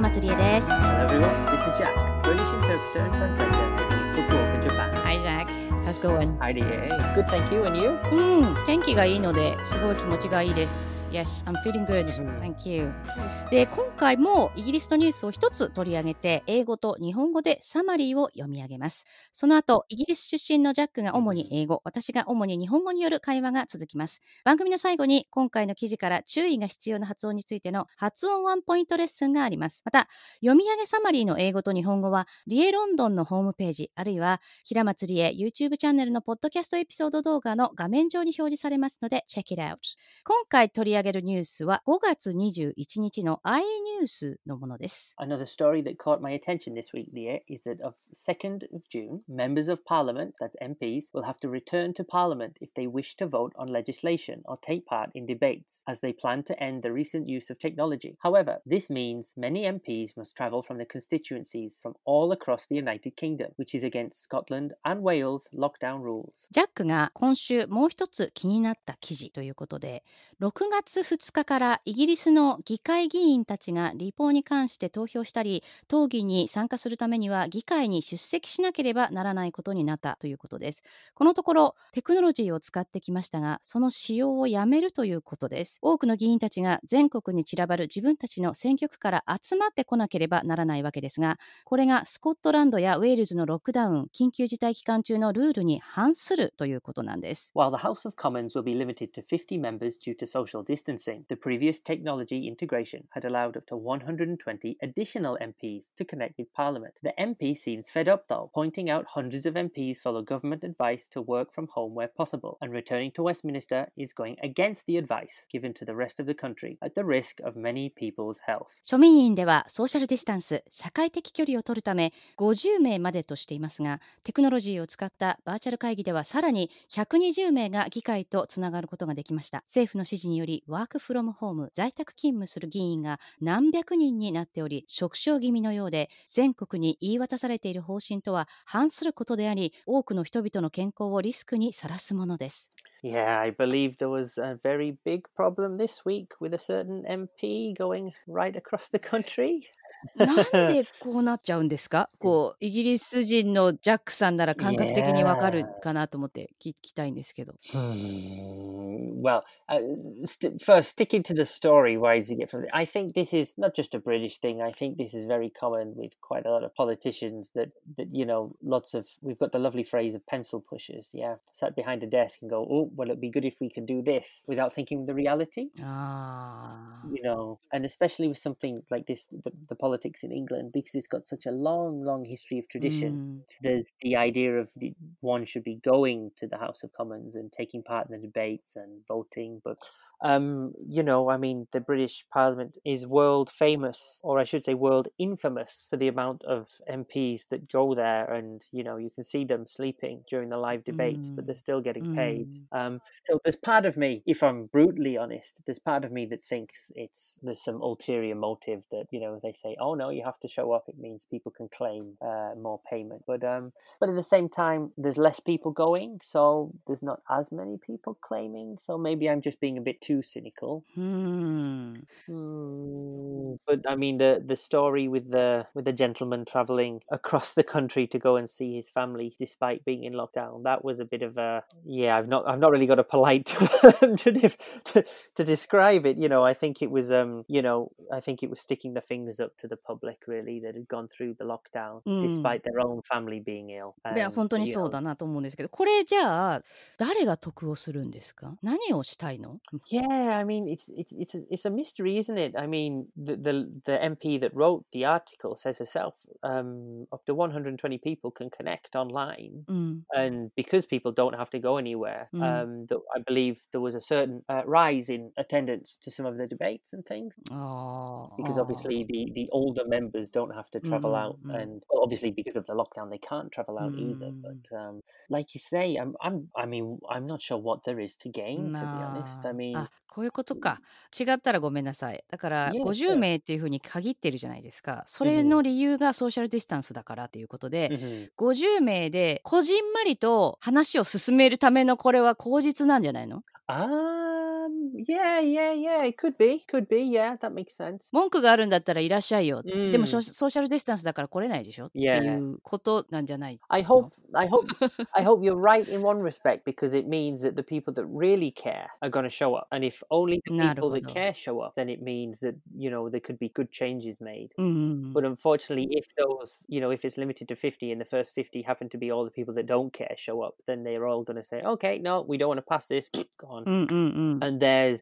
松理恵です。 Hello everyone, this is Jack, British interpreter and translator for Talk in Japan. Hi Jack, how's it going? Hi dear, good thank you, and you? 天気がいいのですごい気持ちがいいです。Yes, I'm feeling good. Thank you. で、今回もイギリスのニュースを一つ取り上げて、英語と日本語でサマリーを読み上げます。その後、イギリス出身のジャックが主に英語、私が主に日本語による会話が続きます。番組の最後に今回の記事から注意が必要な発音についての発音ワンポイントレッスンがあります。また、読み上げサマリーの英語と日本語は、リエロンドンのホームページ、あるいは平松理恵 YouTube チャンネルのポッドキャストエピソード動画の画面上に表示されますので、check it out。今回取り上げるニュースは5月21日の iNews のものです。 Another story that caught my attention this week, Leah, is that of 2nd of June, members of Parliament, that's MPs, will have to return to Parliament if they wish to vote on legislation or take part in debates, as they plan to end the recent use of technology. However, this means many MPs must travel from their constituencies from all across the United Kingdom, which is against Scotland and Wales' lockdown rules. ジャックが今週もう一つ気になった記事ということで、6月2日からイギリスの議会議員たちが立法に関して投票したり、討議に参加するためには議会に出席しなければならないことになったということです。このところテクノロジーを使ってきましたが、その使用をやめるということです。多くの議員たちが全国に散らばる自分たちの選挙区から集まってこなければならないわけですが、これがスコットランドやウェールズのロックダウン、緊急事態期間中のルールに反するということなんです。 While the House of Commons will be limited to 50 members due to social distancing, the previous technology integration had allowed up to 120 additional MPs to connect with Parliament. The MP seems fed up though, pointing out hundreds of MPs follow government advice to work from home where possible, and returning to Westminster is going against the advice given to the rest of the country at the risk of many people's health. 庶民院ではソーシャルディスタンス、社会的距離を取るため50名までとしていますが、テクノロジーを使ったバーチャル会議ではさらに120名が議会とつながることができました。政府の指示によりワークフロムホーム、在宅勤務する議員が何百人になっており、縮小気味のようで、全国に言い渡されている方針とは反することであり、多くの人々の健康をリスクにさらすものです。 Yeah, I believe there was a very big problem this week with a certain MP going right across the country. なんでこうなっちゃうんですか？イギリス人のジャックさんなら感覚的にわかるかなと思って聞きたいんですけど。 Well, first, sticking to the story, why does it get from it? I think this is not just a British thing. I think this is very common with quite a lot of politicians that we've got the lovely phrase of pencil pushers, sat behind a desk and go, oh, well, it'd be good if we could do this without thinking of the reality. And especially with something like this, the politics in England, because it's got such a long history of tradition. There's the idea of one should be going to the House of Commons and taking part in the debates and voting, but the British Parliament is world famous, or I should say world infamous, for the amount of MPs that go there, and you can see them sleeping during the live debates, but they're still getting paid. So there's part of me, if I'm brutally honest, there's part of me that thinks there's some ulterior motive that they say, oh no, you have to show up, it means people can claim more payment, but at the same time there's less people going, so there's not as many people claiming, so maybe I'm just being a bit too cynical. But I mean the story with the gentleman traveling across the country to go and see his family despite being in lockdown, that was a bit of a I've not really got a polite term to describe it. I think it was I think it was sticking the fingers up to the public really that had gone through the lockdown despite their own family being ill. いや本当にそうだなと思うんですけど、これじゃあ誰が得をするんですか？何をしたいの ？Yeah, I mean, it's a mystery, isn't it? I mean, the MP that wrote the article says herself, up to 120 people can connect online, and because people don't have to go anywhere, I believe there was a certain rise in attendance to some of the debates and things. Because obviously the older members don't have to travel out, and obviously because of the lockdown they can't travel out either. But like you say, I'm not sure what there is to gain, to be honest. I mean, こういうことか。違ったらごめんなさい。だから50名っていうふうに限ってるじゃないですか。それの理由がソーシャルディスタンスだからということで、50名でこじんまりと話を進めるためのこれは口実なんじゃないの？ Yeah. It could be. Yeah, that makes sense. 文句があるんだったらいらっしゃいよって、でもソ Mm. ーシャルディスタンスだから来れないでしょってい Yeah. うことなんじゃない I の hope you're right in one respect, because it means that the people that really care are going to show up. And if only the なる people ほ that ど。 care show up, then it means that, there could be good changes made. うんうんう But ん unfortunately, if those, if it's limited to 50 and the first 50 happen to be all the people that don't care show up, then they're all going to say, okay, no, we don't want to pass this, go on. うんうんうん And there's,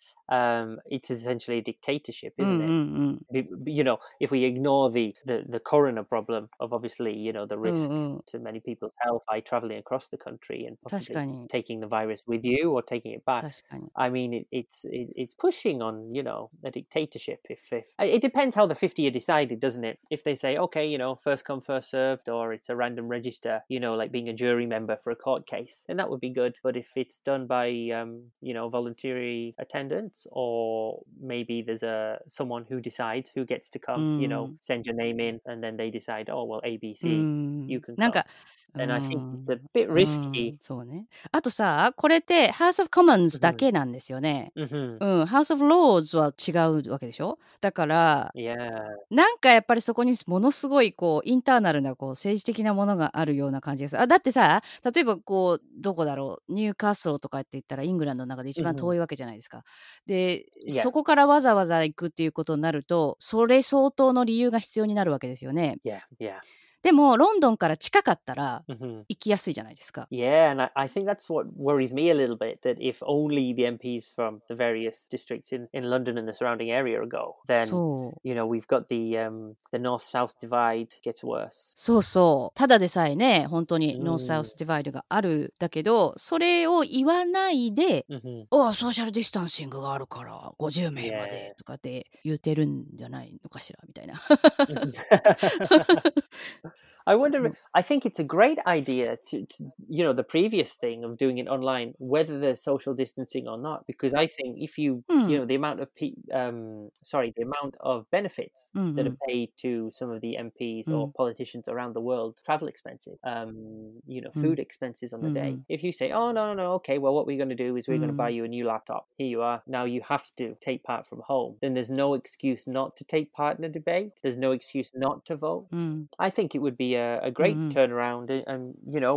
it's essentially a dictatorship, うんうん isn't う it? ん If we ignore the corona problem of obviously, the うん risk うん to many people's health by traveling across the country and 確 possibly かに taking the virus with you or taking it back. 確かに I mean, it's pushing on, a dictatorship. If it depends how the 50 are decided, doesn't it? If they say, okay, first come, first served, or it's a random register, like being a jury member for a court case, then that would be good. But if it's done by, voluntary attendance, or maybe there's someone who decides who gets to come, うん send your name in, and then they decide, oh well, う ABC, ん you can なん come. かう And I think ん it's a bit う risky. んそうね。あとさ、これって House of Commons だ Mhm. けなんですよね。 Mhm. うん、House of Lords は違うわけでしょ。だから Yeah. なんかやっぱりそこにものすごいこうインターナルなこう政治的なものがあるような感じです。あ、だってさ、例えばこうどこだろう、ニューカッスルとかって言ったらイングランドの中で一番遠 Mhm. いわけじゃないですか。で、 Yeah. そこからわざわざ行くっていうことになると、それ相当の理由が必要になるわけですよね。 Yeah. でもロンドンから近かったら Mhm. 行きやすいじゃないですか。 Yeah, and I think that's what worries me a little bit, that if only the MPs from the various districts in London and the surrounding area go, then そう。 we've got the north-south divide gets worse. そうそう。ただでさえね、本当にノースサウうんスディバイドがあるだけど、それを言わないで、 Mhm. ああ、ソーシャルディスタンシングがあるから50名ま Yeah. でとかって言うてるんじゃないのかしらみたいな。 I wonder. I think it's a great idea to the previous thing of doing it online, whether there's social distancing or not, because I think if you the amount of the amount of benefits うんう that are ん paid to some of the MPs or politicians around the world, travel expenses, food expenses on the day. If you say, oh no, okay, well what we're going to do is we're going to buy you a new laptop. Here you are. Now you have to take part from home. Then there's no excuse not to take part in a debate. There's no excuse not to vote. うん I think it would be a great turnaround and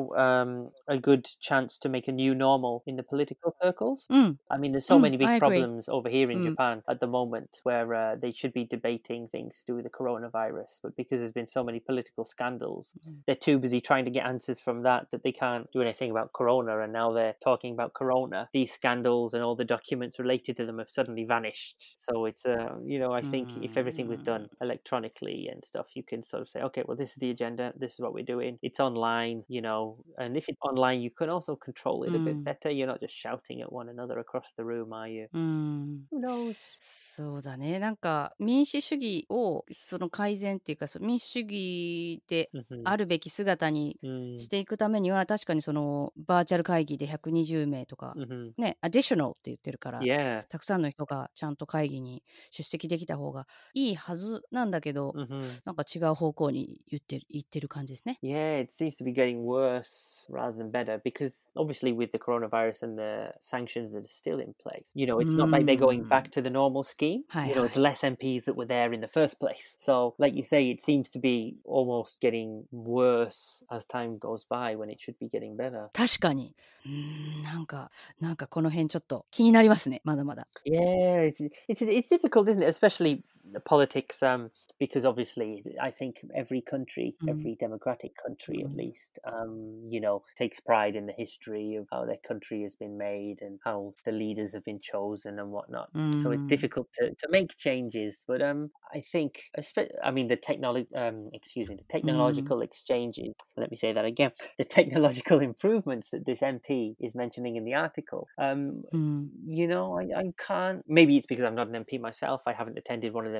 a good chance to make a new normal in the political circles. うん I mean, there's so many big I agree. problems over here in Japan at the moment where they should be debating things to do with the coronavirus, but because there's been so many political scandals, they're too busy trying to get answers from that they can't do anything about corona, and now they're talking about corona. These scandals and all the documents related to them have suddenly vanished. So it's I think if everything was done electronically and stuff, you can sort of say, okay, well, this is the agenda, this is what we're doing. It's online, and if it's online, you can also control it a bit better. You're not just shouting at one another across the room, are you? うん Who knows? そうだね。なんか民主主義をその改善っていうか、民主主義で Mhm. あるべき姿に Mm. していくためには、確かにそのバーチャル会議で120名とか Mhm. ね、additional って言ってるから、 Yeah. たくさんの人がちゃんと会議に出席できた方がいいはずなんだけど、 Mhm. なんか違う方向に言ってる感じですね。 Yeah, it seems to be getting worse rather than better, because obviously with the coronavirus and the sanctions that are still in place, it's not like they're going back to the normal scheme. Hi, It's hi. less MPs that were there in the first place. So, like you say, it seems to be almost getting worse as time goes by when it should be getting better. 確かに。なんかこの辺ちょっと気になりますね。まだまだ。 Yeah, it's difficult, isn't it? Especially politics, because obviously I think every country, every democratic country at least, takes pride in the history of how their country has been made and how the leaders have been chosen and whatnot. So it's difficult to make changes. But I think, the technological exchanges. Let me say that again. The technological improvements that this MP is mentioning in the article. I can't. Maybe it's because I'm not an MP myself. I haven't attended one of their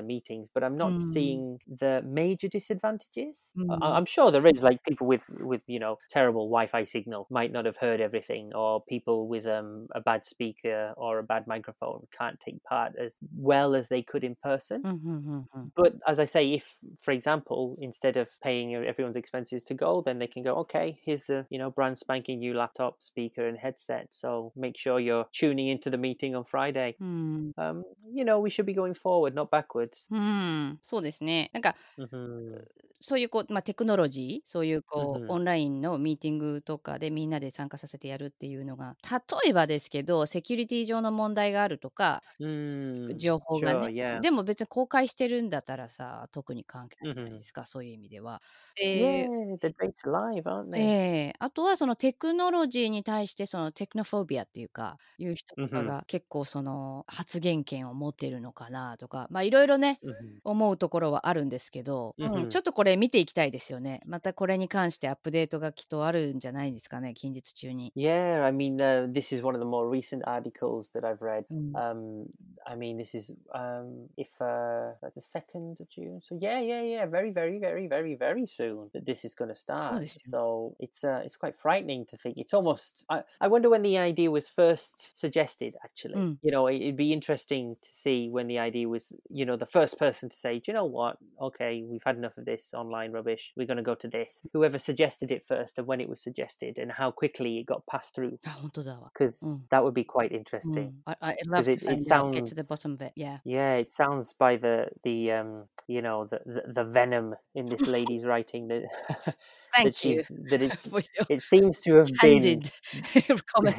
meetings, but I'm not うん。 seeing the major disadvantages. う I'm ん。 sure there is, like people with terrible Wi-Fi signal might not have heard everything, or people with a bad speaker or a bad microphone can't take part as well as they could in person. うんうんうんうん。 But as I say, if, for example, instead of paying everyone's expenses to go, then they can go, okay, here's the brand spanking new laptop, speaker, and headset. So make sure you're tuning into the meeting on Friday. うん。 We should be going forward, not backwards. うん、そうですね。なんか Mhm. そういうテクノロジー、そういうオ Mhm. ンラインのミーティングとかでみんなで参加させてやるっていうのが、例えばですけど、セキュリティ上の問題があるとか、情報が Sure, ね。 yeah. でも別に公開してるんだったらさ、特に関係ないじゃないで Mhm. すか、そういう意味では。 Yeah, で、 the date's live, aren't え they? え、あとはそのテクノロジーに対してそのテクノフォビアっていうか、いう人とか Mhm. が結構その発言権を持ってるのかなとか、いろいろね、 Mhm. 思うところはあるんですけど、ちょ Mhm. っとこれ見ていきたいですよね。またこれに関してアップデートがきっとあるんじゃないですかね、近日中に。 Yeah, I mean, this is one of the more recent articles that I've read. うん。 I mean, this is if like the 2nd of June. So yeah, very, very, very, very, very soon that this is going to そう start. ですよ。 So it's quite frightening to think. It's almost. I wonder when the idea was first suggested. Actually, うん。 it'd be interesting to see when the idea was. The first person to say, do you know what? Okay, we've had enough of this online rubbish. We're going to go to this. Whoever suggested it first and when it was suggested and how quickly it got passed through. あ、本当だわ。 Because うん。 that would be quite う interesting. ん。I'd Because love to it find out, get to the sounds. bottom of it. Yeah. Yeah, it sounds by the the venom in this lady's writing that Thank that you she's that for your it seems to have been candid comment.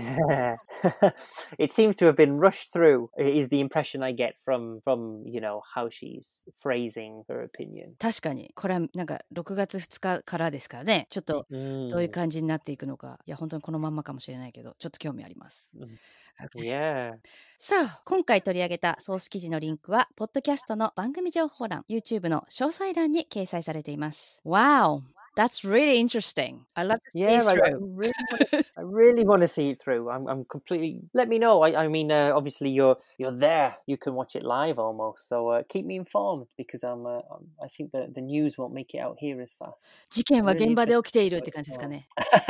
it seems to have been rushed through is the impression I get from how she's phrasing her opinion. 確かにこれはなんか6月2日からですからね、ちょっとどういう Mm. 感じになっていくのか、いや本当にこのまんまかもしれないけど、ちょっと興味あります。 Mm. Okay. Yeah. さあ、今回取り上げたソース記事のリンクはポッドキャストの番組情報欄、 YouTube の詳細欄に掲載されています。 Wow, that's really interesting. I love to see Yeah, I really want to see it through. I'm completely. Let me know. I mean, obviously you're there. You can watch it live almost. So keep me informed because I think that the news won't make it out here as fast. 事件は Really 現場で interested 起きているっ what て感じですか it's ね。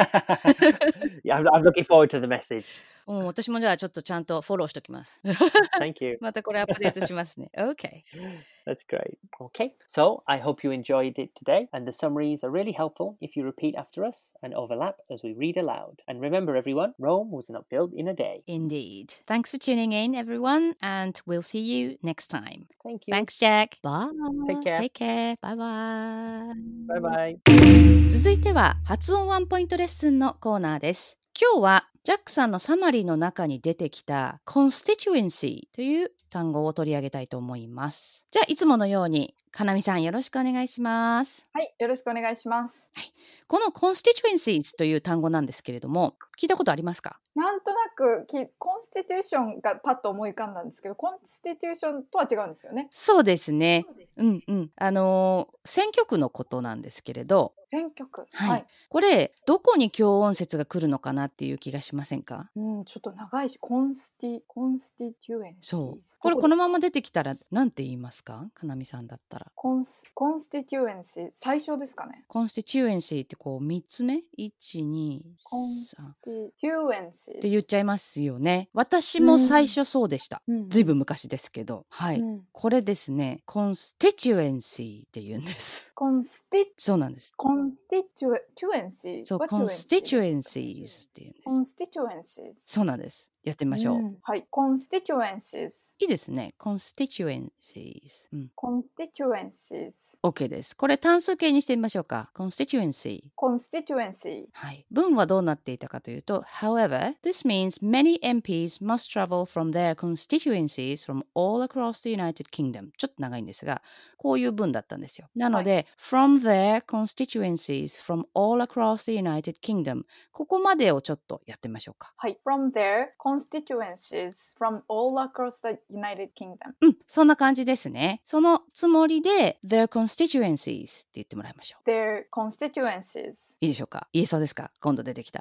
Yeah, I'm looking forward to the message. 私もじゃあちょっとちゃんとフォローしときます。 Thank you. またこれアップデートしますね。OK. That's great. Okay, so I hope you enjoyed it today, and the summaries are really helpful if you repeat after us and overlap as we read aloud. And remember, everyone, Rome was not built in a day. Indeed. Thanks for tuning in, everyone, and we'll see you next time. Thank you. Thanks, Jack. Bye. Take care. Take care. Bye bye. Bye bye. 続いては発音ワンポイントレッスンのコーナーです。今日はジャックさんのサマリーの中に出てきた constituency という単語を取り上げたいと思います。じゃあいつものようにかなみさんよろしくお願いします。 はい、よろしくお願いします。 この constituencies という単語なんですけれども、聞いたことありますか？ なんとなくコンスティテューションがパッと思い浮かんだんですけど、コンスティテューションとは違うんですよね。 そうですね。うんうん。選挙区のことなんですけれど、 選挙区。 はい。これどこに強音節が来るのかなっていう気がしませんか？ ちょっと長いし、コンスティテュエンシー。 そう。これこのまま出てきたらなんて言いますか？かなみさんだったら。 コンスティテュエンシー、最初ですかね。 コンスティチュエンシーってこう3つ目 ?1、2、 コンス 3 ティテュエンシー。 って言っちゃいますよね。私も最初そうでした。ずいぶん昔ですけど。はい。これですね、コンスティチュエンシーって言うんです。そうなんです。 コンスティチュエンシー。 そう、コンスティチュエンシーズって言うんです。 コンスティチュエンシー。 そうなんです。やってみましょう。 はい、コンスティチュエンシーズ。 いいですね。コンスティチュエンシーズ。 コンスティチュエンシーズ。 OK です。これ単数形にしてみましょうか。constituency。はい。文はどうなっていたかというと、However, this means many MPs must travel from their constituencies from all across the United Kingdom. ちょっと長いんですが、こういう文だったんですよ。なので、from their constituencies from all across the United Kingdom。ここまでをちょっとやってみましょうか。 はい。from their constituencies from all across the United Kingdom。 そんな感じですね。そのつもりで、their constituencies って言ってもらいましょう。 their constituencies。 いいでしょうか？言えそうですか？今度出てきたら。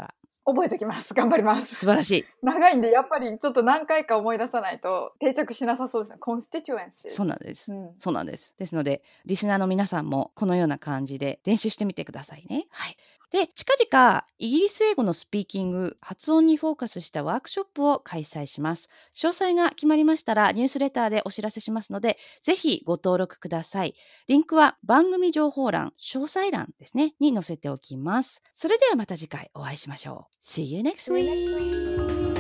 覚えておきます。頑張ります。 素晴らしい。 長いんでやっぱりちょっと何回か思い出さないと定着しなさそうですね。constituencies。 そうなんです、そうなんです。ですのでリスナーの皆さんもこのような感じで練習してみてくださいね。はい。で、近々イギリス英語のスピーキング、発音にフォーカスしたワークショップを開催します。詳細が決まりましたらニュースレターでお知らせしますので、ぜひご登録ください。リンクは番組情報欄、詳細欄ですね、に載せておきます。それではまた次回お会いしましょう。See you next week!